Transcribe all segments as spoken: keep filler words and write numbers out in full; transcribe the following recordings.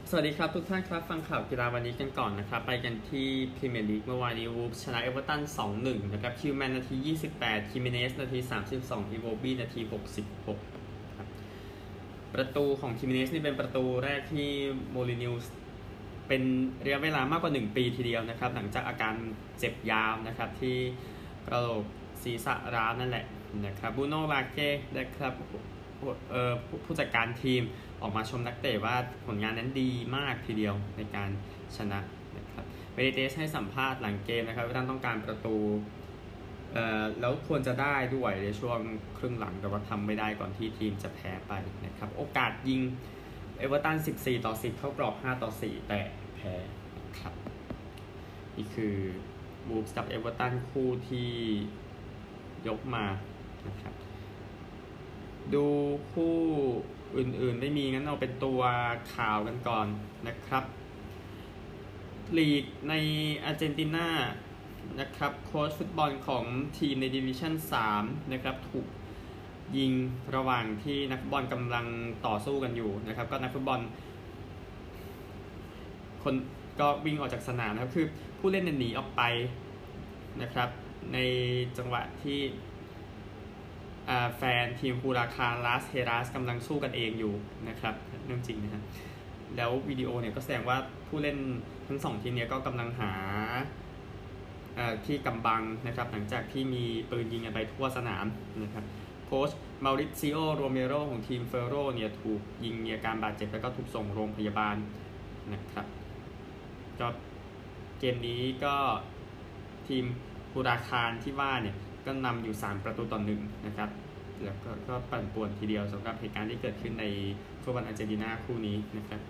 สวัสดีครับทุกท่านครับฟังข่าวกีฬาวันนี้กันก่อนนะครับไปกันที่พรีเมียร์ลีกเมื่อวานนี้วูฟชนะเอเวอร์ตัน สองหนึ่ง นะครับคิวแมนนาทียี่สิบแปดคิมิเนสนาทีสามสิบสองอีโวบี้นาทีหกสิบหกครับประตูของคิมิเนสนี่เป็นประตูแรกที่โมลินิวส์เป็นระยะเวลามากกว่าหนึ่งปีทีเดียวนะครับหลังจากอาการเจ็บยาวนะครับที่กระโหลกศีรษะร้าวนั่นแหละนะครับบูโน่ลาเก้นะครับผู้จัดการทีมออกมาชมนักเตะว่าผลงานนั้นดีมากทีเดียวในการชนะนะครับเบนิเตสให้สัมภาษณ์หลังเกมนะครับว่าท่านต้องการประตูเอ่อแล้วควรจะได้ด้วยในช่วงครึ่งหลังแต่ว่าทำไม่ได้ก่อนที่ทีมจะแพ้ไปนะครับโอกาสยิงเอเวอร์ตันสิบสี่ต่อสิบเข้ากรอบห้าต่อสี่แต่แพ้นะครับนี่คือวูฟส์กับเอเวอร์ตันคู่ที่ยกมานะครับดูคู่อื่นๆไม่มีงั้นเอาเป็นตัวข่าวกันก่อนนะครับลีกในอาร์เจนตินานะครับโค้ชฟุตบอลของทีมในดิวิชั่นสามนะครับถูกยิงระหว่างที่นักฟุตบอลกำลังต่อสู้กันอยู่นะครับก็นักฟุตบอลคนก็วิ่งออกจากสนามนะครับคือผู้เล่นหนีออกไปนะครับในจังหวะที่แฟนทีมฮูราคานลาสเฮราสกำลังสู้กันเองอยู่นะครับเรื่องจริงนะฮะแล้ววิดีโอเนี่ยก็แสดงว่าผู้เล่นทั้งสองทีมเนี่ยก็กำลังหาที่กำบังนะครับหลังจากที่มีปืนยิงกันไปทั่วสนามนะครับโค้ชมาริซิโอโรเมโรของทีมเฟโรเนี่ยถูกยิงมีอาการบาดเจ็บแล้วก็ถูกส่งโรงพยาบาลนะครับก็เกมนี้ก็ทีมฮูราคานที่ว่าเนี่ยก็นำอยู่สามประตูต่อหนึ่งนะครับแล้วก็ก็ปั่นป่วนทีเดียวสำหรับเหตุการณ์ที่เกิดขึ้นในฟุตบอลอาร์เจนตินาคู่นี้นะครับ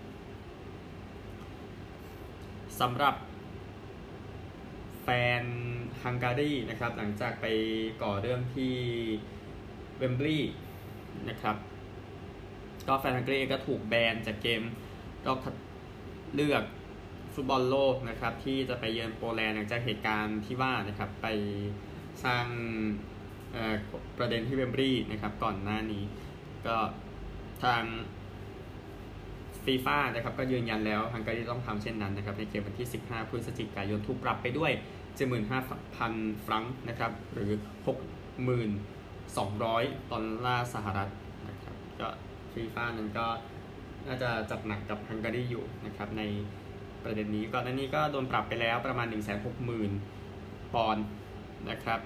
สำหรับแฟนฮังการีนะครับหลังจากไปก่อเรื่องที่เวมบลีย์นะครับก็แฟนฮังการีก็ถูกแบนจากเกมก็เลือกฟุตบอลโลกนะครับที่จะไปเยือนโปแลนด์หลังจากเหตุการณ์ที่ว่านะครับไปสร้างประเด็นที่เวมบลีย์นะครับก่อนหน้านี้ก็ทางฟีฟ่านะครับก็ยืนยันแล้วฮังการีต้องทำเช่นนั้นนะครับในเกมวันที่สิบห้าพฤศจิกายนถูกปรับไปด้วย เจ็ดหมื่นห้าพัน ฟรังก์นะครับหรือ หกหมื่นสองร้อย ดอลลาร์สหรัฐนะครับก็ฟีฟ่านั้นก็น่าจะจัดหนักกับฮังการีอยู่นะครับในประเด็นนี้ก่อนหน้านี้ก็โดนปรับไปแล้วประมาณ หนึ่งแสนหกหมื่น ปอนด์นะครับ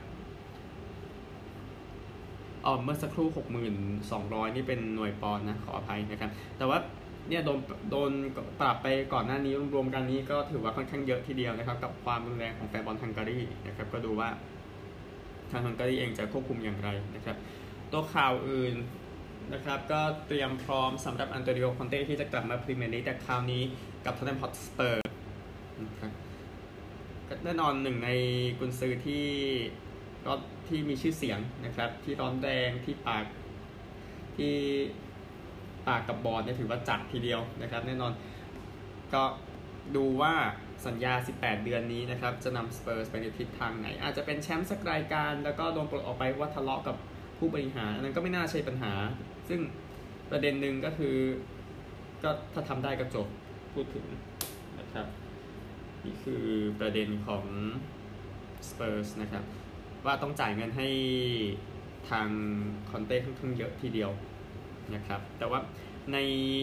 อ๋อเมื่อสักครู่ หกหมื่นสองร้อย นี่เป็นหน่วยปอนด์นะขออภัยนะครับแต่ว่าเนี่ยโดนโดนปรับไปก่อนหน้านี้รวมๆกันนี้ก็ถือว่าค่อนข้างเยอะทีเดียวนะครับกับความรุนแรงของแฟนบอลฮังการีนะครับก็ดูว่าทางฮังการีเองจะควบคุมอย่างไรนะครับตัวข่าวอื่นนะครับก็เตรียมพร้อมสำหรับอันโตนิโอ คอนเต้ที่จะกลับมาพรีเมียร์ลีกแต่คราวนี้กับท็อตแนม ฮอตสเปอร์นะครับแน่นอนหนึ่งในกุนซือที่ก็ที่มีชื่อเสียงนะครับที่ร้อนแรงที่ปากที่ปากกับบอลเนี่ยถือว่าจัดทีเดียวนะครับแน่นอนก็ดูว่าสัญญาสิบแปดเดือนนี้นะครับจะนำสเปอร์สไปในทิศทางไหนอาจจะเป็นแชมป์สักรายการแล้วก็โดนปลดออกไปว่าทะเลาะกับผู้บริหารอันนั้นก็ไม่น่าใช่ปัญหาซึ่งประเด็นหนึ่งก็คือก็ถ้าทำได้ก็จบพูดถึงนะครับนี่คือประเด็นของสเปอร์สนะครับว่าต้องจ่ายเงินให้ทางคอนเต้ค่อนข้างเยอะทีเดียวนะครับแต่ว่าใน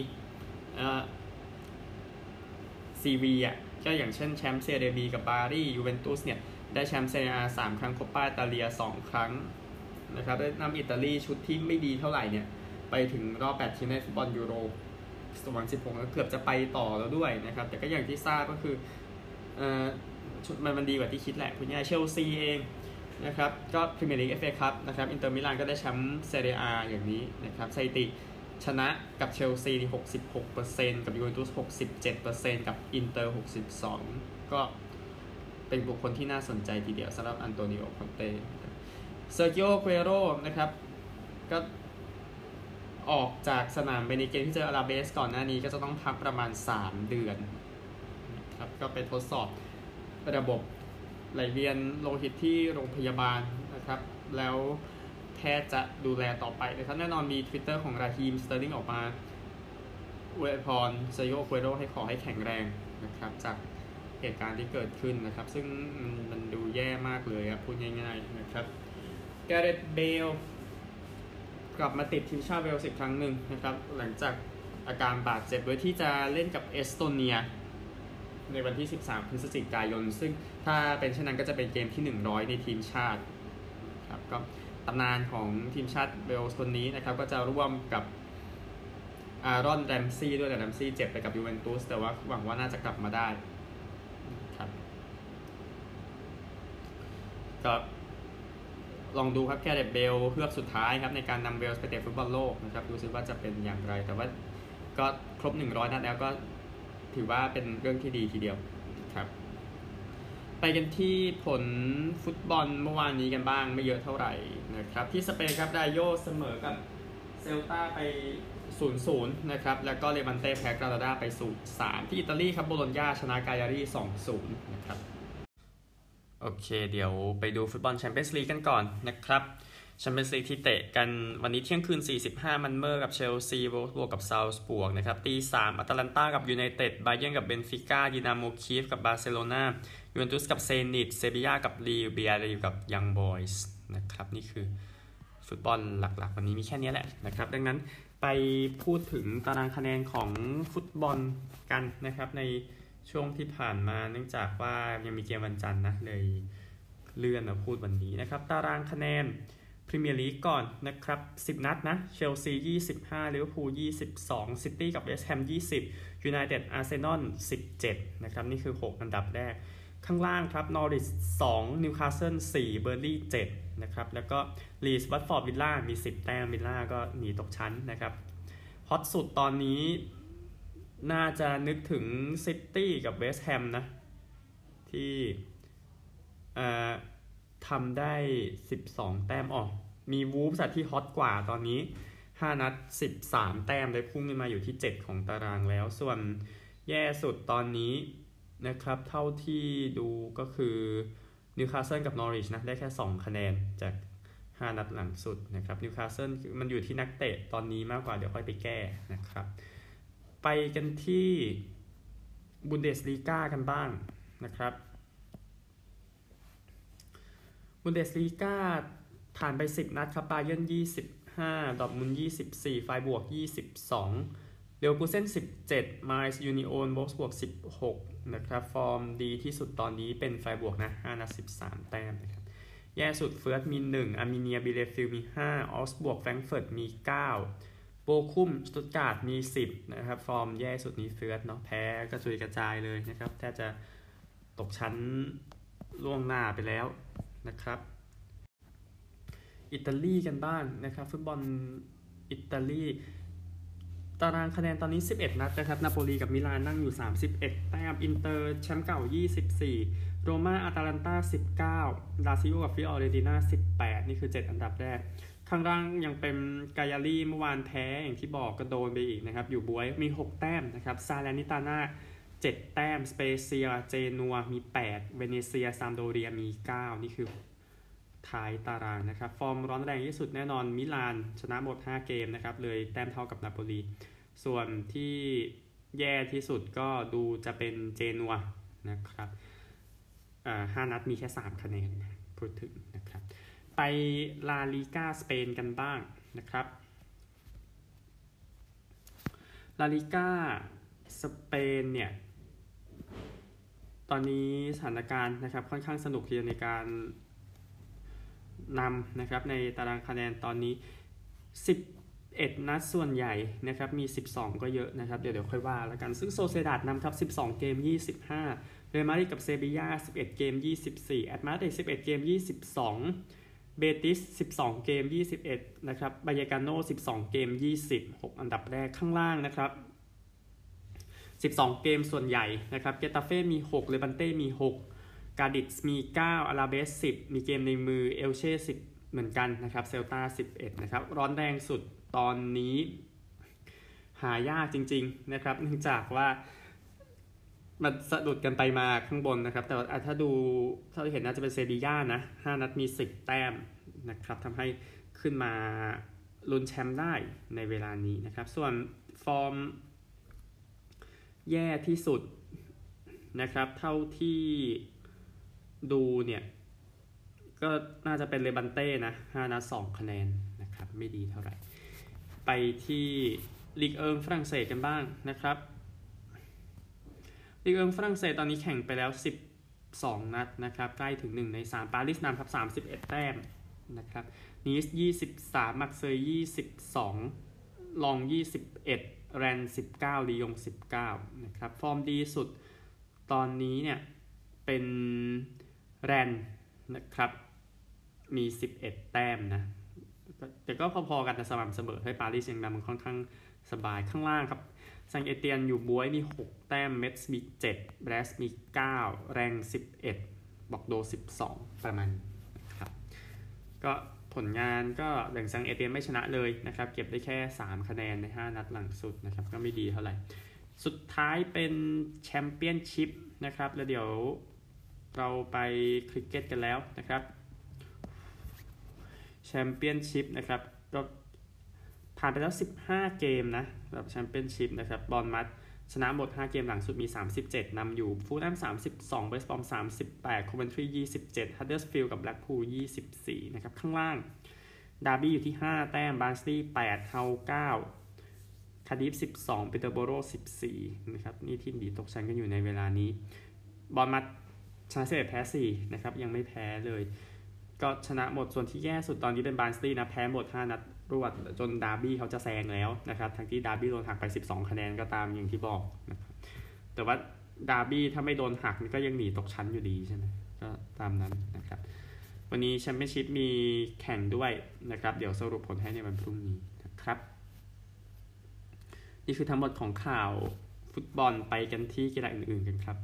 ซีวีอ่ะก็อย่างเช่นแชมป์เซเรียบีกับบารียูเวนตุสเนี่ยได้แชมป์เซเรียสามครั้งโคปาอิตาเลียสองครั้งนะครับได้นำอิตาลีชุดที่ไม่ดีเท่าไหร่เนี่ยไปถึงรอบแปดทีมในฟุตบอลยูโรสองพันสิบหกแล้วเกือบจะไปต่อแล้วด้วยนะครับแต่ก็อย่างที่ทราบก็คือเอ่อชุดมันมันดีกว่าที่คิดแหละคุณย่าเชลซีเองนะครับก็พรีเมียร์ลีก เอฟ เอ คัพนะครับอินเตอร์มิลานก็ได้แชมป์เซเรีย A อย่างนี้นะครับสถิติชนะกับเชลซี หกสิบหกเปอร์เซ็นต์ กับยูเวนตุส หกสิบเจ็ดเปอร์เซ็นต์ กับอินเตอร์ หกสิบสองก็เป็นบุคคลที่น่าสนใจทีเดียวสำหรับอันโตนิโอ คอนเต้เซอร์กิโอ เกเรโรนะครับก็ออกจากสนามไปในเกมที่เจออาราเบสก่อนหน้านี้ก็จะต้องพักประมาณสามเดือนนะครับก็ไปทดสอบระบบไหลเวียนโลหิตที่โรงพยาบาลนะครับแล้วแพทย์จะดูแลต่อไปนะครับแน่นอนมี Twitter ของราฮีม สเตอร์ลิงออกมาอวยพรเซโยโกโรให้ขอให้แข็งแรงนะครับจากเหตุการณ์ที่เกิดขึ้นนะครับซึ่งมันมันดูแย่มากเลยครับพูดง่ายๆนะครับแกเรธเบลกลับมาติดทีมชาติเวลส์อีกครั้งหนึ่งนะครับหลังจากอาการบาดเจ็บโดยที่จะเล่นกับเอสโตเนียในวันที่สิบสามพฤศจิกายนซึ่งถ้าเป็นเช่นนั้นก็จะเป็นเกมที่หนึ่งร้อยในทีมชาติครับก็ตำนานของทีมชาติเวลส์คนนี้นะครับก็จะร่วมกับอารอนแรมซี่ด้วยแต่แรมซี่เจ็บไปกับยูเวนตุสแต่ว่าหวังว่าน่าจะกลับมาได้ครับก็ลองดูครับแกเรธเบลเพื่อสุดท้ายครับในการนำเวลส์ไปเตะฟุตบอลโลกนะครับดูซิว่าจะเป็นอย่างไรแต่ว่าก็ครบหนึ่งร้อยนัดแล้วก็ถือว่าเป็นเรื่องที่ดีทีเดียวครับไปกันที่ผลฟุตบอลเมื่อวานนี้กันบ้างไม่เยอะเท่าไหร่นะครับที่สเปนครับไดโยเสมอกับเซลตาไป ศูนย์ศูนย์ นะครับแล้วก็เลวันเต้แพ้กรานาดาไป ศูนย์สาม ที่อิตาลีครับโบโลญญาชนะกายารี สองศูนย์ นะครับโอเคเดี๋ยวไปดูฟุตบอลแชมเปี้ยนส์ลีกกันก่อนนะครับแชมเปี้ยนส์ลีกที่เตะกันวันนี้เที่ยงคืนสี่สิบห้ามันเมอร์กับเชลซีโวลฟสบวกกับซาวส์บวกนะครับตีสามอัตแลนตากับยูไนเต็ดบาเยิร์นกับเบนฟิก้าดินาโมคีฟกับบาร์เซโลนายูเวนตุสกับเซนิตเซบียากับลีเบียร์กับยังบอยส์นะครับนี่คือฟุตบอลหลักๆวันนี้มีแค่นี้แหละนะครับดังนั้นไปพูดถึงตารางคะแนนของฟุตบอลกันนะครับในช่วงที่ผ่านมาเนื่องจากว่ายังมีเกมวันจันทร์นะเลยเลื่อนมาพูดวันนี้นะครับตารางคะแนนพรีเมียร์ลีกก่อนนะครับสิบนัดนะเชลซียี่สิบห้าลิเวอร์พูลยี่สิบสองซิตี้กับเวสต์แฮมยี่สิบยูไนเต็ดอาร์เซนอลสิบเจ็ดนะครับนี่คือหกอันดับแรกข้างล่างครับนอริชสองนิวคาสเซิลสี่เบอร์ลี่เจ็ดนะครับแล้วก็ลีสวัตฟอร์ดวิลล่ามีสิบแต้มวิลล่าก็หนีตกชั้นนะครับฮอตสุดตอนนี้น่าจะนึกถึงซิตี้กับเวสต์แฮมนะที่เอ่อทำได้สิบสองแต้มออกมีวูฟส์ที่ฮอตกว่าตอนนี้ห้านัดสิบสามแต้มได้พุ่งขึ้นมาอยู่ที่เจ็ดของตารางแล้วส่วนแย่สุดตอนนี้นะครับเท่าที่ดูก็คือนิวคาสเซิลกับนอริชนะได้แค่สองคะแนนจากห้านัดหลังสุดนะครับนิวคาสเซิลมันอยู่ที่นักเตะตอนนี้มากกว่าเดี๋ยวค่อยไปแก้นะครับไปกันที่บุนเดสลีกากันบ้างนะครับบุนเดสลีกาผ่านไปสิบนัดครับบาเยิร์นยี่สิบห้าดอร์ทมุนด์ยี่สิบสี่ไฟบวกยี่สิบสองเลเวอร์คูเซ่นสิบเจ็ดไมล์ยูนิโอนโวลฟสบวกสิบหกนะครับฟอร์มดีที่สุดตอนนี้เป็นไฟบวกนะห้านัดสิบสามแต้มนะครับแย่สุดเฟิร์สมีหนึ่งอาร์เมเนียบิเลฟิลมีห้าออสบวกแฟรงก์เฟิร์ตมีเก้าโบคุมสตุตการ์ดมีสิบนะครับฟอร์มแย่สุดนี้เฟิร์สเนาะแพ้กระจุยกระจายเลยนะครับแทบจะตกชั้นล่วงหน้าไปแล้วนะครับอิตาลีกันบ้างนะครับฟุตบอลอิตาลีตารางคะแนนตอนนี้สิบเอ็ดนัดนะครับนาโปลีกับมิลานนั่งอยู่สามสิบเอ็ดแต้มอินเตอร์แชมป์เก่ายี่สิบสี่โรม่าอาตาลันตาสิบเก้าลาซิโอกับฟิออเรติน่าสิบแปดนี่คือเจ็ดอันดับแรกข้างล่างยังเป็นกายารีเมื่อวานแพ้อย่างที่บอกก็โดนไปอีกนะครับอยู่บวยมีหกแต้มนะครับซาเลนิตาน่าเจ็ดแต้มสเปเซียเจนัวมีแปดเวเนเซียซามโดเรียมีเก้านี่คือท้ายตารางนะครับฟอร์มร้อนแรงที่สุดแน่นอนมิลานชนะหมดห้าเกมนะครับเลยแต้มเท่ากับนาโปลีส่วนที่แย่ที่สุดก็ดูจะเป็นเจนัวนะครับอ่าห้านัดมีแค่สามคะแนนพูดถึงนะครับไปลาลีกาสเปนกันบ้างนะครับลาลีกาสเปนเนี่ยตอนนี้สถานการณ์นะครับค่อนข้างสนุกทีเดียวในการนำนะครับในตารางคะแนนตอนนี้สิบเอ็ดนัดส่วนใหญ่นะครับมีสิบสองก็เยอะนะครับเดี๋ยวเดี๋ยวค่อยว่าแล้วกันซึ่งโซเซดาดนำครับสิบสองเกมยี่สิบห้าเรอัลมาดริดกับเซบีย่าสิบเอ็ดเกมยี่สิบสี่แอตมาดริดสิบเอ็ดเกมยี่สิบสองเบติสสิบสองเกมยี่สิบเอ็ดนะครับบายากาโน่สิบสองเกมยี่สิบหกอันดับแรกข้างล่างนะครับสิบสองเกมส่วนใหญ่นะครับเกตาเฟ่มีหกเลบันเต้มีหกกาดิสมีเก้าอาราเบสสิบมีเกมในมือเอลเช่สิบเหมือนกันนะครับเซลตาสิบเอ็ดนะครับร้อนแรงสุดตอนนี้หายากจริงๆนะครับเนื่องจากว่ามันสะดุดกันไปมาข้างบนนะครับแต่ถ้าดูถ้าเห็นน่าจะเป็นเซบีย่านะห้านัดมีสิบแต้มนะครับทำให้ขึ้นมาลุ้นแชมป์ได้ในเวลานี้นะครับส่วนฟอร์มแย่ที่สุดนะครับเท่าที่ดูเนี่ยก็น่าจะเป็นเลบันเต้นะห้านัดสองคะแนนนะครับไม่ดีเท่าไหร่ไปที่ลีกเอิงฝรั่งเศสกันบ้างนะครับลีกเอิงฝรั่งเศสตอนนี้แข่งไปแล้วสิบสองนัดนะครับใกล้ถึงหนึ่งในสามปารีสนำครับสามสิบเอ็ดแต้มนะครับนีสยี่สิบสามมักเซย์ยี่สิบสองลองยี่สิบเอ็ดแรนสิบเก้าลียงสิบเก้านะครับฟอร์มดีสุดตอนนี้เนี่ยเป็นแรนนะครับมีสิบเอ็ดแต้มนะแต่ก็พอๆกันแต่สม่ำเสมอให้ปารีสยังนำมันค่อนข้างสบายข้างล่างครับซังเอเตียนอยู่บวยมีหกแต้มเมทส์มีเจ็ดแบรสมีเก้าแรงสิบเอ็ดบอกโดสิบสองประมาณนะครับก็ผลงานก็หลังซังเอเตียนไม่ชนะเลยนะครับเก็บได้แค่สามคะแนนในห้านัดหลังสุดนะครับก็ไม่ดีเท่าไหร่สุดท้ายเป็นแชมเปี้ยนชิพนะครับแล้วเดี๋ยวเราไปคริกเก็ตกันแล้วนะครับแชมเปี้ยนชิพนะครับก็ผ่านไปแล้วสิบห้าเกมนะสำหรับแชมเปี้ยนชิพนะครับบอร์นมัธชนะหมดห้าเกมหลังสุดมีสามสิบเจ็ดนำอยู่ฟูลแลมสามสิบสองเวสต์บรอมสามสิบแปดโคเวนทรียี่สิบเจ็ดฮัดเดอร์สฟิลด์กับแบล็กพูลยี่สิบสี่นะครับข้างล่างดาร์บี้อยู่ที่ห้าแต้มบาร์นสลีย์แปดเฮาเก้าคาร์ดิฟสิบสองปีเตอร์โบโรสิบสี่นะครับนี่ทีมดีตกชั้นกันอยู่ในเวลานี้บอร์นมัธชนะสิบเอ็ดแพ้สี่นะครับยังไม่แพ้เลยก็ชนะหมดส่วนที่แย่สุดตอนนี้เป็นบาร์นสลีย์นะแพ้หมดห้านัดรวดจนดาร์บี้เขาจะแซงแล้วนะครับทั้งที่ดาร์บี้โดนหักไปสิบสองคะแนนก็ตามอย่างที่บอกนะครับแต่ว่าดาร์บี้ถ้าไม่โดนหักก็ยังหนีตกชั้นอยู่ดีใช่ไหมก็ตามนั้นนะครับวันนี้แชมเปี้ยนชิพมีแข่งด้วยนะครับเดี๋ยวสรุปผลให้ในวันพรุ่งนี้นะครับนี่คือทั้งหมดของข่าวฟุตบอลไปกันที่กีฬาอื่นๆกันครับ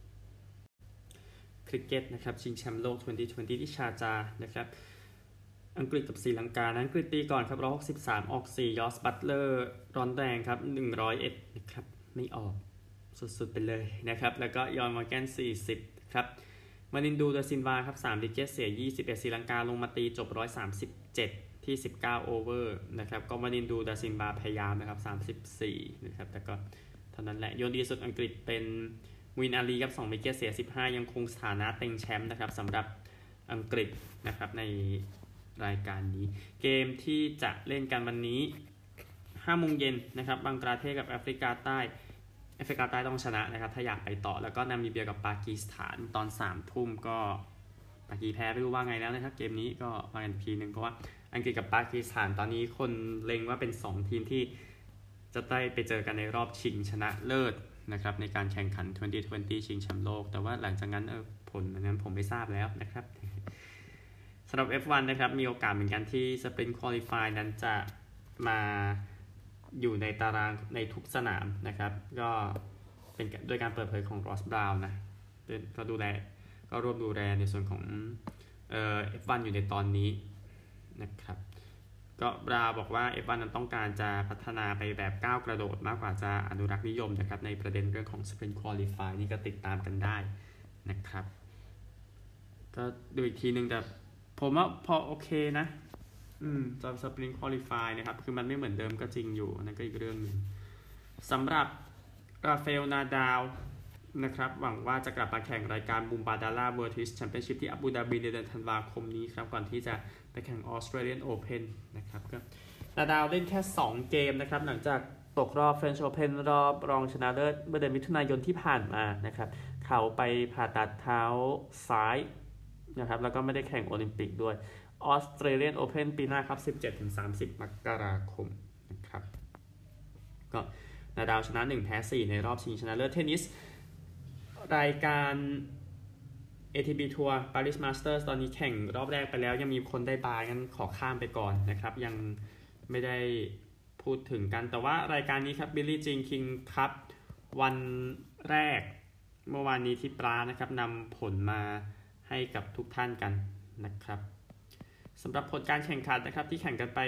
คริกเก็ตนะครับชิงแชมป์โลกยี่สิบยี่สิบที่ชาร์จานะครับอังกฤษกับศรีลังกานะอังกฤษตีก่อนครับหนึ่งร้อยหกสิบสามออกสี่ยอสบัตเลอร์ร้อนแรงครับหนึ่งร้อยเอ็ดนะครับไม่ออกสุดๆไปเลยนะครับแล้วก็ยอนมอร์แกนสี่สิบครับมานินดูดาซินวาครับสามวิกเก็ตเสียยี่สิบเอ็ดศรีลังกาลงมาตีจบหนึ่งร้อยสามสิบเจ็ดที่สิบเก้าโอเวอร์นะครับก็มานินดูดาซินวาพยายามนะครับสามสิบสี่นะครับแต่ก็เท่านั้นแหละโยนดีสุดอังกฤษเป็นวินอาลีครับสองวิกเก็ตเสียสิบห้ายังคงสถานะเต็งแชมป์นะครับสำหรับอังกฤษนะครับในรายการนี้เกมที่จะเล่นกันวันนี้ห้าโมงเย็นนะครับบังกลาเทศกับแอฟริกาใต้แอฟริกาใต้ต้องชนะนะครับถ้าอยากไปต่อแล้วก็นามิเบียกับปากีสถานตอนสามทุ่มก็ปากีแพ้ไม่รู้ว่าไงแล้วนะครับเกมนี้ก็มากันทีนึงเพราะว่าอังกฤษกับปากีสถานตอนนี้คนเล็งว่าเป็นสองทีมที่จะได้ไปเจอกันในรอบชิงชนะเลิศนะครับในการแข่งขันยี่สิบยี่สิบชิงแชมป์โลกแต่ว่าหลังจากนั้นเออผลนั้นผมไม่ทราบแล้วนะครับสำหรับ เอฟ วัน นะครับมีโอกาสเหมือนกันที่ Sprint Qualify นั้นจะมาอยู่ในตารางในทุกสนามนะครับก็เป็นโดยการเปิดเผยของ Ross Brown นะก็ดูแลก็ร่วมดูแลในส่วนของเอ่อ เอฟ วัน อยู่ในตอนนี้นะครับก็บราบอกว่า เอฟ วัน นั้นต้องการจะพัฒนาไปแบบก้าวกระโดดมากกว่าจะอนุรักษ์นิยมนะครับในประเด็นเรื่องของ Sprint Qualify นี่ก็ติดตามกันได้นะครับก็ดูอีกทีนึงแต่ผมว่าพอโอเคนะอืมจอ Sprint Qualify นะครับคือมันไม่เหมือนเดิมก็จริงอยู่นั่นก็อีกเรื่องนึงสำหรับราฟาเอลนาดาลนะครับหวังว่าจะกลับมาแข่งรายการบูมบาดาร่าเวิลด์เทนนิสแชมเปี้ยนชิพที่อาบูดาบีในเดือนธันวาคมนี้ครับก่อนที่จะไปแข่งออสเตรเลียนโอเพ่นนะครับก็นาดาลเล่นแค่สองเกมนะครับหลังจากตกรอบ French Open รอบรองชนะเลิศเมื่อเดือนมิถุนายนที่ผ่านมานะครับเขาไปผ่าตัดเท้าซ้ายนะครับแล้วก็ไม่ได้แข่งโอลิมปิกด้วยออสเตรเลียนโอเพ่นปีหน้าครับ สิบเจ็ดถึงสามสิบ มกราคมนะครับก็นาดาลชนะหนึ่งแพ้สี่ในรอบชิงชนะเลิศเทนนิสรายการ เอ ที บี Tour Paris Masters ตอนนี้แข่งรอบแรกไปแล้วยังมีคนได้บายงั้นขอข้ามไปก่อนนะครับยังไม่ได้พูดถึงกันแต่ว่ารายการนี้ครับ Billie Jean King Cup วันแรกเมื่อวานนี้ที่ปรานะครับนำผลมาให้กับทุกท่านกันนะครับสำหรับผลการแข่งขันนะครับที่แข่งกันไป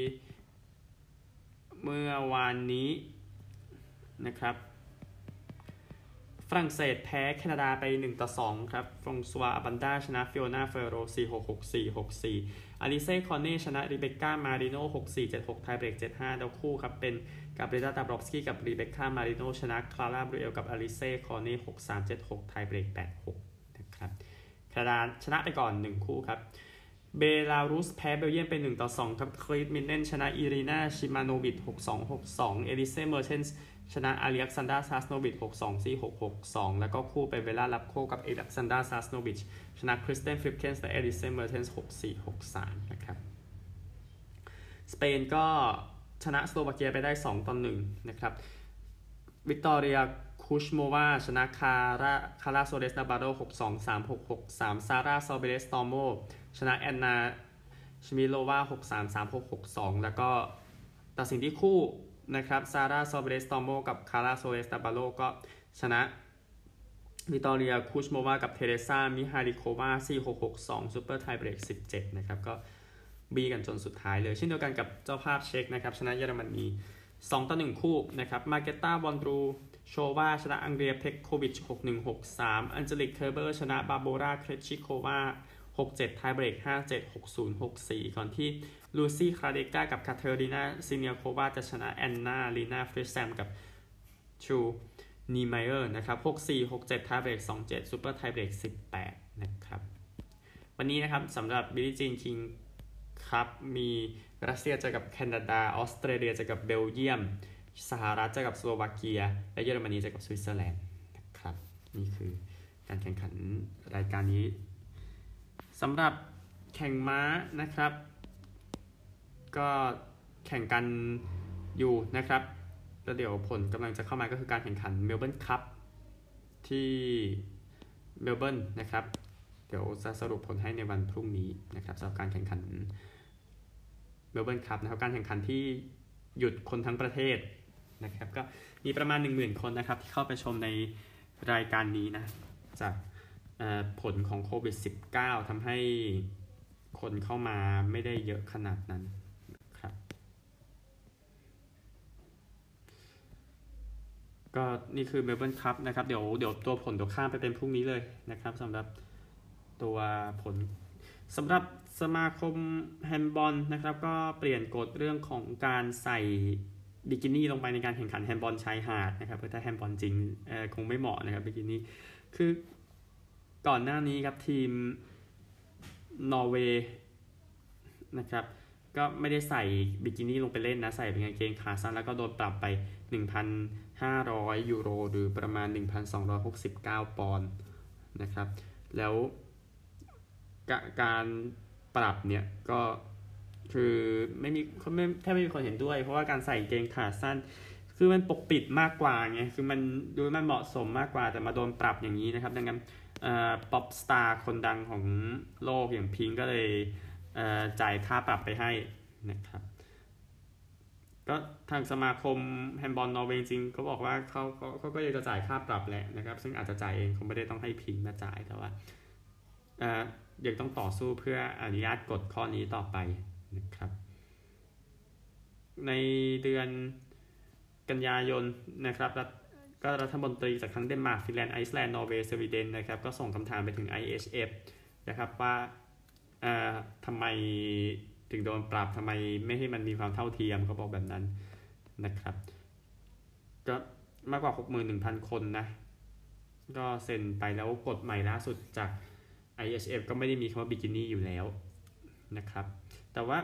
เมื่อวานนี้นะครับฝรั่งเศสแพ้แคนาดาไปหนึ่งต่อสองครับฟรองซัวอาบันดาชนะฟิโอนาเฟโร สี่หก หกสี่ หกสี่อลิเซ่ คอนเน่ชนะริเบคก้า มาริโน่ หกสี่ เจ็ดหก ไทเบรก เจ็ดห้า แล้วคู่ครับเป็นกับเรดา ดาบรอฟสกี้กับริเบคก้า มาริโน่ชนะคลาร่า บรูเอลกับอลิเซ่ คอนเน่ หกสาม เจ็ดหก ไทเบรก แปดหก นะครับแคนาดาชนะไปก่อนหนึ่งคู่ครับเบลารุสแพ้เบลเยียมเป็นหนึ่งต่อสองครับคลีตมินเนนชนะอีรีนาชิมาโนวิช หกสอง หกสอง เอลิเซ่ เมอร์เทนส์ชนะอาเล็กซานดรา ซาสโนวิช หกสอง สี่หก หกสอง แล้วก็คู่เป็นเวลาลับโคกับเอล็กซานดรา ซาสโนวิชชนะคริสเตน ฟลิปเคนส์และเอลิเซ่ เมอร์เทนส์ หกสี่ หกสาม นะครับสเปนก็ชนะสโลวาเกียไปได้สองต่อหนึ่งนะครับวิกตอเรียคูชโมวาชนะคาราคาราโซเดสนาบาโด หกสอง สามหก หกสาม ซาร่า ซอเบเรสตอโมชนะแอนนาชมิโลวา หกสาม สามหก หกสอง แล้วก็ตัดสินที่คู่นะครับซาร่า ซอเบเรสตอโมกับคาราโซเดสนาบาโดก็ชนะวิกตอเรียคูชโมวากับเทเรซา มิฮาลิโควา สี่หก หกสอง ซูเปอร์ไทเบรก สิบเจ็ด นะครับก็บีกันจนสุดท้ายเลยเช่นเดียวกันกับเจ้าภาพเช็กนะครับชนะเยอรมนีสองต่อหนึ่งคู่นะครับมาเกต้า วอนดรูโชวาชนะอังเดรีย เพคโควิช หกหนึ่ง หกสาม อันเจลิก เคอร์เบอร์ชนะบาโบรา เครชิโควา หกเจ็ด ไทเบรก ห้าเจ็ด หกศูนย์ หกสี่ ก่อนที่ลูซี่ คราเดกากับคาเทอรีนา ซิเนียโควาจะชนะแอนนา ลีนา ฟริสแซมกับชูนีไมเออร์นะครับ หกสี่ หกเจ็ด ไทเบรก สองเจ็ด ซูเปอร์ไทเบรก สิบแปด นะครับวันนี้นะครับสำหรับบิลลี่จีนคิงครับมีรัสเซียเจอกับแคนาดาออสเตรเลียเจอกับเบลเยียมสหรัฐเจอกับสโลวาเกียและเยอรมนีเจอกับสวิตเซอร์แลนด์นะครับนี่คือการแข่งขันรายการนี้สำหรับแข่งม้านะครับก็แข่งกันอยู่นะครับแล้วเดี๋ยวผลกำลังจะเข้ามาก็คือการแข่งขันเมลเบิร์นคัพที่เมลเบิร์นนะครับเดี๋ยวจะสรุปผลให้ในวันพรุ่งนี้นะครับสำหรับการแข่งขันเมลเบิร์นคัพนะครับการแข่งขันที่หยุดคนทั้งประเทศนะครับก็มีประมาณ หนึ่งหมื่น คนนะครับที่เข้าไปชมในรายการนี้นะจากผลของโควิด สิบเก้า ทำให้คนเข้ามาไม่ได้เยอะขนาดนั้นครับก็นี่คือเมลเบิร์นคัพนะครับเดี๋ยวเดี๋ยวตัวผลเดี๋ยวข้ามไปเป็นพรุ่งนี้เลยนะครับสำหรับตัวผลสำหรับสมาคมแฮนด์บอลนะครับก็เปลี่ยนกฎเรื่องของการใส่บิกินี่ลงไปในการแข่งขันแฮนด์บอลชายหาดนะครับเพราะถ้าแฮนด์บอลจริงเอ่อคงไม่เหมาะนะครับบิกินี่คือก่อนหน้านี้ครับทีมนอร์เวย์นะครับก็ไม่ได้ใส่บิกินี่ลงไปเล่นนะใส่เป็นกางเกงขาสั้นแล้วก็โดนปรับไป หนึ่งพันห้าร้อย ยูโรหรือประมาณ หนึ่งพันสองร้อยหกสิบเก้า ปอนด์นะครับแล้วการปรับเนี่ยก็คือไม่มีไม่แทบไม่มีคนเห็นด้วยเพราะว่าการใส่กางเกงขาสั้นคือมันปกปิดมากกว่าไงคือมันดูมันเหมาะสมมากกว่าแต่มาโดนปรับอย่างนี้นะครับดังนั้นป๊อปสตาร์คนดังของโลกอย่างพิงก็เลยจ่ายค่าปรับไปให้นะครับก็ทางสมาคมแฮนด์บอลนอร์เวย์จริงเขาบอกว่าเขาเขาก็อยากจะจ่ายค่าปรับแหละนะครับซึ่งอาจจะจ่ายเองคงไม่ได้ต้องให้พิงมาจ่ายแต่ว่ายังต้องต่อสู้เพื่ออนุญาตกฎข้อนี้ต่อไปนะครับในเดือนกันยายนนะครับก็รัฐมนตรีจากทั้งเดนมาร์กฟินแลนด์ไอซ์แลนด์นอร์เวย์สวีเดนนะครับก็ส่งคำถามไปถึง ไอ เอช เอฟ นะครับว่าทำไมถึงโดนปรับทำไมไม่ให้มันมีความเท่าเทียมเขาบอกแบบนั้นนะครับก็มากกว่า หกหมื่นหนึ่งพัน คนนะก็เซ็นไปแล้วกฎใหม่ล่าสุดจาก ไอ เอช เอฟ ก็ไม่ได้มีคำว่าบิกินี่อยู่แล้วนะครับแต่ว่า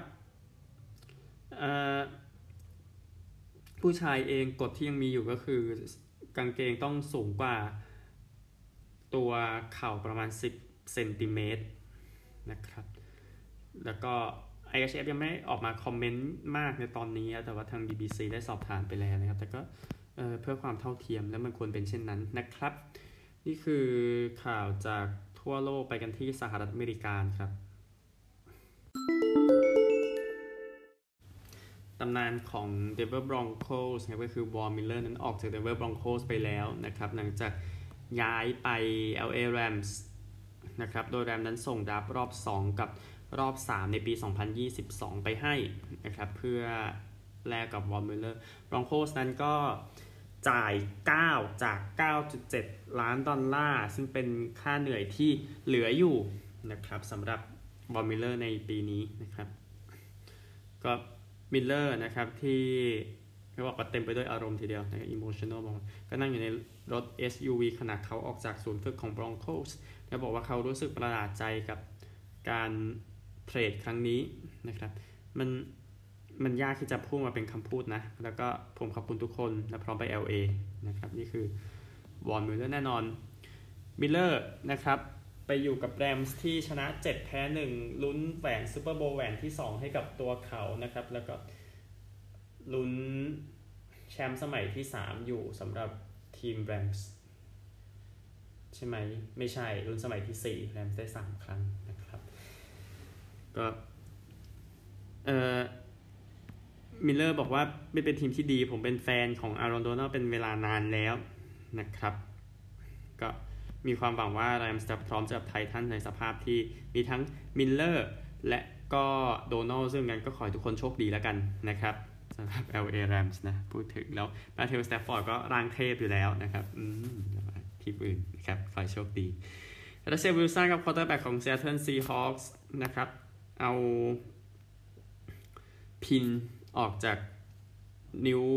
ผู้ชายเองกฎที่ยังมีอยู่ก็คือกางเกงต้องสูงกว่าตัวเข่าประมาณสิบเซนติเมตรนะครับแล้วก็ ไอ เอช เอฟ ยังไม่ออกมาคอมเมนต์มากในตอนนี้แต่ว่าทาง บี บี ซี ได้สอบถามไปแล้วนะครับแต่ก็ เอ่อ เพื่อความเท่าเทียมและมันควรเป็นเช่นนั้นนะครับนี่คือข่าวจากทั่วโลกไปกันที่สหรัฐอเมริกาครับตำนานของ Denver Broncos นะครับก็คือ Von Miller นั้นออกจาก Denver Broncos ไปแล้วนะครับหลังจากย้ายไป แอล เอ Rams นะครับโดย Rams นั้นส่งดราฟต์รอบสองกับรอบสามในปีสองพันยี่สิบสองไปให้นะครับเพื่อแลกกับ Von Miller Broncos นั้นก็จ่ายเก้าจาก เก้าจุดเจ็ด ล้านดอลลาร์ซึ่งเป็นค่าเหนื่อยที่เหลืออยู่นะครับสำหรับบอลมิลเลอร์ในปีนี้นะครับก็มิลเลอร์นะครับที่เขาบอกว่าเต็มไปด้วยอารมณ์ทีเดียวนะครับ emotional มองก็นั่งอยู่ในรถ เอส ยู วี ขณะเขาออกจากศูนย์ฝึกของ Broncos แล้วบอกว่าเขารู้สึกประหลาดใจกับการเทรดครั้งนี้นะครับมันมันยากที่จะพูดมาเป็นคำพูดนะแล้วก็ผมขอบคุณทุกคนและพร้อมไป แอล เอ นะครับนี่คือวอนมิลเลอร์แน่นอนมิลเลอร์นะครับไปอยู่กับแรมส์ที่ชนะเจ็ดแพ้หนึ่งลุ้นแหวนซูเปอร์โบว์แหวนที่สองให้กับตัวเขานะครับแล้วก็ลุ้นแชมป์สมัยที่สามอยู่สำหรับทีมแรมส์ใช่ไหมไม่ใช่ลุ้นสมัยที่สี่แรมส์ได้สามครั้งนะครับก็เอ่อมิลเลอร์บอกว่าไม่เป็นทีมที่ดีผมเป็นแฟนของอารอนโดนัลเป็นเวลานานแล้วนะครับก็มีความหวังว่าแรมส์จะพร้อมจะไททันในสภาพที่มีทั้งมิลเลอร์และก็โดนัลซึ่งงั้นก็ขอให้ทุกคนโชคดีแล้วกันนะครับสำหรับ แอล เอ Rams นะพูดถึงแล้วมาเทลสแตฟฟอร์ดก็ร่างเทพอยู่แล้วนะครับอืมทีมอื่นนะครับขอให้โชคดีรัสเซล วิลสันกับควอเตอร์แบ็กของ Seattle Seahawks นะครับเอาพินออกจากนิ้ว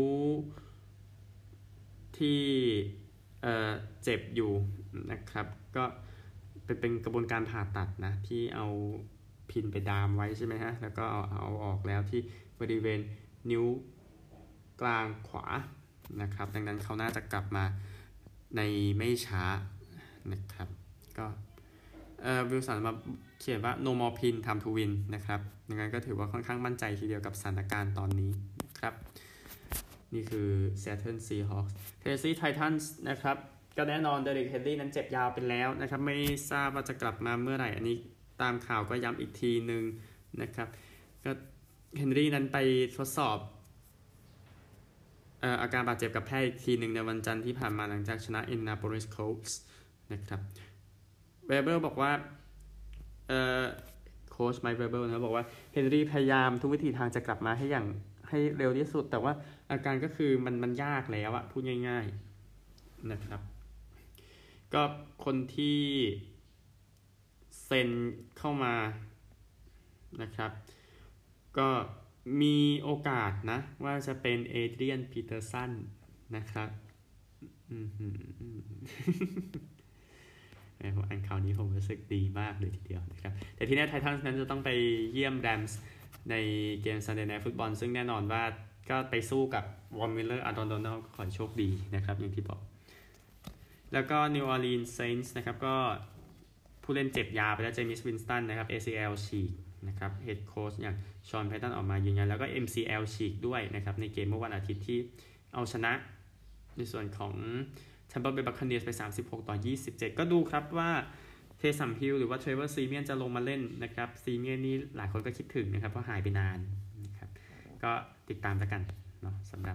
ที่เอ่อเจ็บอยู่นะครับก็เป็นเป็นกระบวนการผ่าตัดนะที่เอาพินไปดามไว้ใช่ไหมฮะแล้วก็เอาเอาออกแล้วที่บริเวณนิ้วกลางขวานะครับดังนั้นเขาน่าจะกลับมาในไม่ช้านะครับก็เอ่อวิลสันมาเขียนว่า no more pin time to win นะครับดังนั้นก็ถือว่าค่อนข้างมั่นใจทีเดียวกับสถานการณ์ตอนนี้นะครับนี่คือ Seattle Seahawks Tennessee Titans นะครับก็แน่นอนเดริก เฮนรี่นั้นเจ็บยาวไปแล้วนะครับไม่ทราบว่าจะกลับมาเมื่อไหร่อันนี้ตามข่าวก็ย้ำอีกทีนึงนะครับก็เฮนรี่นั้นไปทดสอบเอ่ออาการบาดเจ็บกับแพทย์อีกทีนึงในวันจันทร์ที่ผ่านมาหลังจากชนะ Indianapolis Colts นะครับเวเบอร์บอกว่าเอ่อโค้ชไมค์เวเบอร์นะบอกว่าเฮนรี่พยายามทุกวิธีทางจะกลับมาให้อย่างให้เร็วที่สุดแต่ว่าอาการก็คือมันมันยากแล้วอะพูดง่ายๆนะครับก็คนที่เซ็นเข้ามานะครับก็มีโอกาสนะว่าจะเป็นเอเดรียนปีเตอร์สันนะครับอืมผมอ่านข่าวนี้ผมรู้สึกดีมากเลยทีเดียวนะครับแต่ที่แน่ไททันส์นั้นจะต้องไปเยี่ยมแรมส์ในเกม Sunday Night Football ซึ่งแน่นอนว่าก็ไปสู้กับวอนมิลเลอร์อาร์ดอนโดนัลขอโชคดีนะครับอย่างที่บอกแล้วก็ New Orleans Saints นะครับก็ผู้เล่นเจ็บยาไปแล้วเจมิสวินสตันนะครับ เอ ซี แอล ฉีกนะครับเฮดโค้ชอย่างชอนไพตันออกมายืนยันแล้วก็ เอ็ม ซี แอล ฉีกด้วยนะครับในเกมเมื่อวันอาทิตย์ที่เอาชนะในส่วนของTampa Bay Buccaneersไปสามสิบหกต่อยี่สิบเจ็ดก็ดูครับว่าเทสัมฮิลหรือว่าเทรเวอร์ซีเมียนจะลงมาเล่นนะครับซีเมียนนี่หลายคนก็คิดถึงนะครับเพราะหายไปนานนะครับก็ติดตามแล้วกันเนาะสำหรับ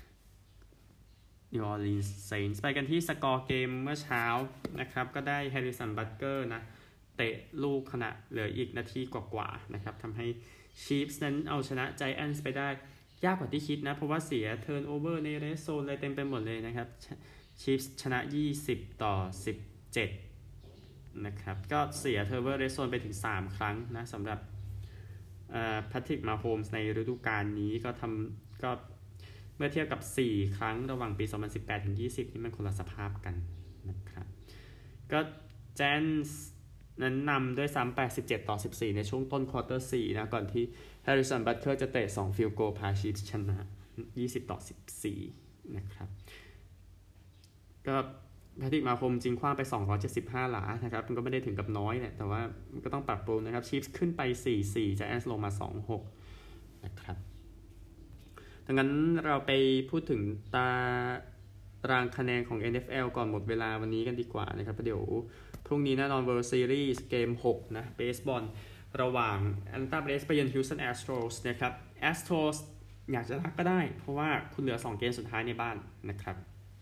New Orleans Saints ไปกันที่สกอร์เกมเมื่อเช้านะครับก็ได้ Harrison Butker นะเตะลูกขณะเหลืออีกนาทีกว่าๆนะครับทำให้ Chiefs นั้นเอาชนะ Giants ไปได้ยากกว่าที่คิดนะเพราะว่าเสีย turnover ใน red zone เลยเต็มไปหมดเลยนะครับChiefs ชนะยี่สิบต่อสิบเจ็ดนะครับก็เสีย turnover red zone ไปถึงสามครั้งนะสำหรับเอ่อ Patrick Mahomes ในฤดูกาลนี้ก็ทำก็เมื่อเทียบกับสี่ครั้งระหว่างปีสองพันสิบแปดถึงยี่สิบนี่มันคนละสภาพกันนะครับก็ Giants นั้นนำด้วยซ้ำไปสิบเจ็ดต่อสิบสี่ในช่วงต้นควอเตอร์สี่นะก่อนที่ Harrison Butker จะเตะสอง field goal พา Chiefs ชนะยี่สิบต่อสิบสี่นะครับก็แพทริกมาโฮมจริงคว้างไปสองร้อยเจ็ดสิบห้าหลานะครับมันก็ไม่ได้ถึงกับน้อยเนี่ยแต่ว่ามันก็ต้องปรับปรุงนะครับชีฟส์ขึ้นไป สี่สี่ จะแอนส์ลงมา สองหก นะครับดังนั้นเราไปพูดถึงตารางคะแนนของ เอ็น เอฟ แอล ก่อนหมดเวลาวันนี้กันดีกว่านะครับเดี๋ยวพรุ่งนี้แน่นอน World Series เกมหกนะเบสบอลระหว่าง Atlanta Braves ไปเยือน Houston Astros นะครับ Astros อยากจะรักก็ได้เพราะว่าคุณเหลือสองเกมสุดท้ายในบ้านนะครับ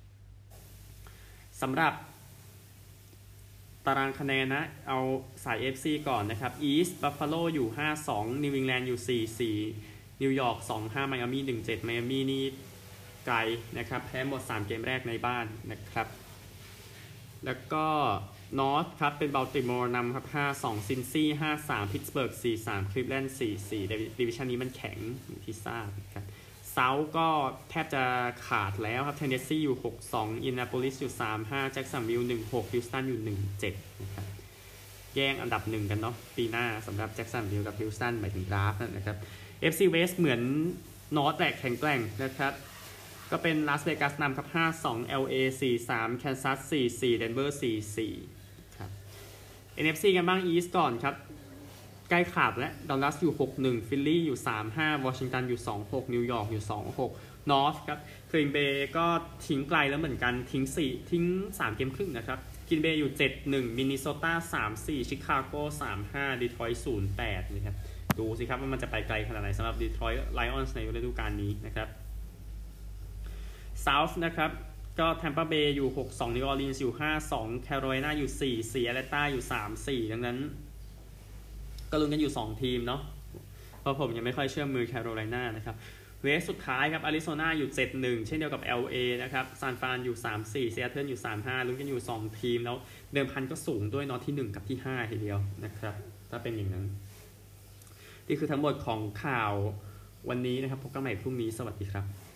สำหรับตารางคะแนนนะเอาสาย เอ เอฟ ซี ก่อนนะครับ East Buffalo อยู่ ห้าสอง New England อยู่ สี่สี่ New York สองห้า Miami หนึ่งเจ็ด Miami นี่ไกลนะครับแพ้หมดสามเกมแรกในบ้านนะครับแล้วก็นอร์ทครับเป็นบัลติมอร์นำครับห้าสองซินซี่ห้าสามพิตต์สเบิร์กสี่สามคลิฟแลนด์สี่สี่ดิวิชั่นนี้มันแข็งที่ทราบครับเซาท์ก็แทบจะขาดแล้วครับเทนเนสซีอยู่หกสองอินนาโพลิสอยู่สามห้าแจ็คสันวิลล์หนึ่งหกฮิวสตันอยู่หนึ่งเจ็ดนะครับแย่งอันดับหนึ่งกันเนาะปีหน้าสำหรับแจ็คสันวิลล์กับฮิวสตันหมายถึงดราฟต์นะครับ เอฟ ซี West เหมือนนอร์ทแตกแข็งแกร่งนะครับก็เป็นลาสเวกัสนำครับห้าสอง แอล เอ สี่สามแคนซัสสี่สี่เดนเวอร์สี่สี่ครับ เอ็น เอฟ ซี กันบ้างอีสต์ก่อนครับใกล้ขาดแล้วดัลลัสอยู่หกหนึ่งฟิลลี่อยู่สามห้าวอชิงตันอยู่สองหกนิวยอร์กอยู่สองหกนอร์ทครับกรีนเบย์ก็ทิ้งไกลแล้วเหมือนกันทิ้งสี่ทิ้งสามเกมครึ่งนะครับกรีนเบย์อยู่เจ็ดหนึ่งมินนิโซตาสามสี่ชิคาโกสามห้าดีทรอยต์ศูนย์แปดนะครับดูสิครับว่ามันจะไปไกลขนาดไหนสำหรับดีทรอยต์ไลออนส์ในฤดูกาลนี้นะครับเซาท์นะครับก็แทมปาเบย์อยู่หกสองนิวออร์ลีนส์อยู่ห้าสองแคโรไลนาอยู่สี่สี่แอตแลนตาอยู่สามสี่ดังนั้นก็ลุ้นกันอยู่สองทีมเนาะเพราะผมยังไม่ค่อยเชื่อมือแคโรไลนานะครับเวสสุดท้ายครับอาริโซนาอยู่เจ็ดหนึ่งเช่นเดียวกับ แอล เอ นะครับซานฟรานอยู่สามสี่ซีแอตเทิลอยู่สามห้าลุ้นกันอยู่สองทีมแล้วเดิมพันก็สูงด้วยเนาะที่หนึ่งกับที่ห้าทีเดียวนะครับถ้าเป็นอย่างนั้นนี่คือทั้งหมดของข่าววันนี้นะครับพบกันใหม่พรุ่งนี้สวัสดีครับ